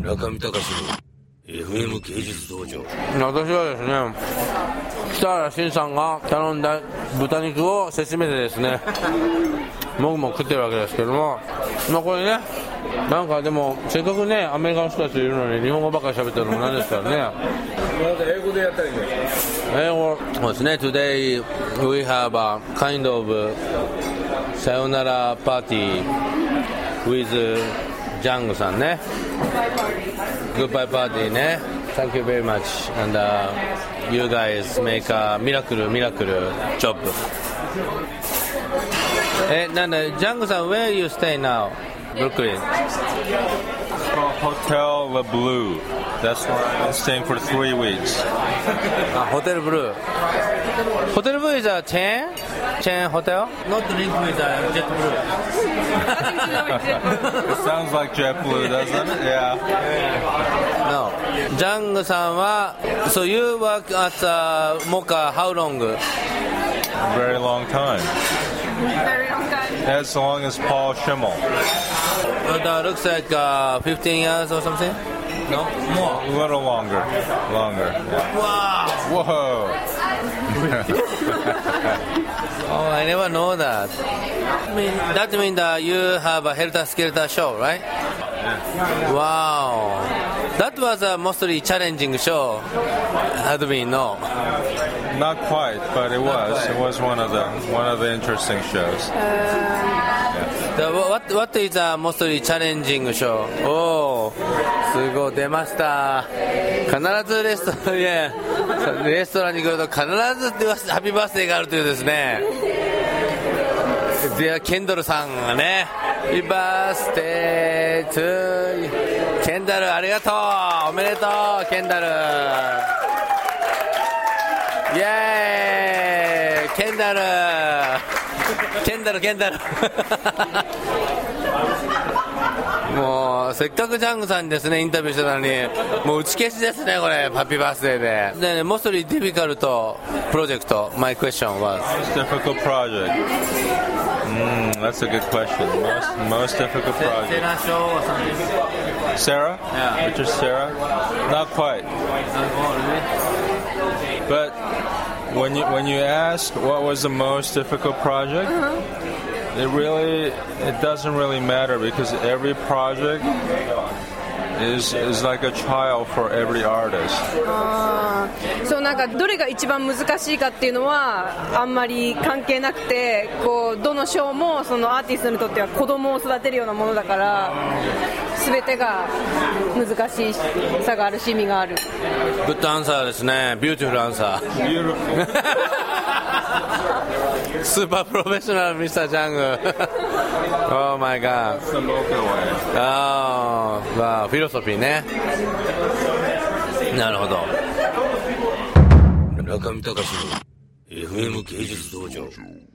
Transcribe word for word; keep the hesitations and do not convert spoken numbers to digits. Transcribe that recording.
中見隆の エフエム 芸術道場。 私はですね、北原慎さんが頼んだ豚肉をせしめてですね、僕も食ってるわけですけども、まあこれね、なんかでもせっかくねアメリカの人たちいるのに日本語ばっかり喋ってるのもなんですからね。 英語でやったらいいんですか？ 英語そうですね。 Today we have a kind of さよならパーティー with ジャングさんね。Goodbye party ね。 Thank you very much and、uh, you guys make a miracle miracle job。 え、なんだジャングさん where you stay now? Brooklyn. It's called Hotel Le Bleu. That's where I'm staying for three weeks. あ、ホテルブルー。ホテルブルー is a chain? Chain hotel? Not linked with a JetBlue. It sounds like JetBlue, doesn't it? Yeah. No. ジャングさんは So you work at、uh, Mocha how long? A very long time. Very long time. As long as Paul Schimmel. That looks like、uh, fifteen years or something? No? More? A little longer. Longer. Yeah. Wow! Whoa! Oh, I never know that. I mean, that means that you have a Helter Skelter show, right? Wow. That was a mostly challenging show. Had been, no? Not quite, but it was. It was one of the one of the interesting shows. The, what what is a mostly challenging show? おー、すごい出ました。必ずレストラン、いやレストランに来ると必ずハッピーバースデーがあるというですね。でケンドルさんがね、ハッピーバースデートゥーケンダルありがとう、おめでとうケンダル。イエーイケンダルケンダルケンダルもうせっかくジャングさんにですねインタビューしてたのにもう打ち消しですねこれハッピーバースデーで。でね、mostly difficult project. My question was Most difficult project. Mm, that's a good question. Most most difficult project. Sarah show or something. Sarah? Yeah. Richard Sarah? Not quite. But when you when you ask what was the most difficult project, uh-huh. it really it doesn't really matter because every project is is like a child for every artist. あそうなんかどれが一番難しいかっていうのはあんまり関係なくて、こうどの賞もそのアーティストにとっては子供を育てるようなものだから。全てが難しさがあるし意味がある。 グッドアンサーですね。ビューティフルアンサー。スーパープロフェッショナルミスタージャング。Oh my god。ああ、まあフィロソフィーね。なるほど。 中見隆の エフエム 芸術道場。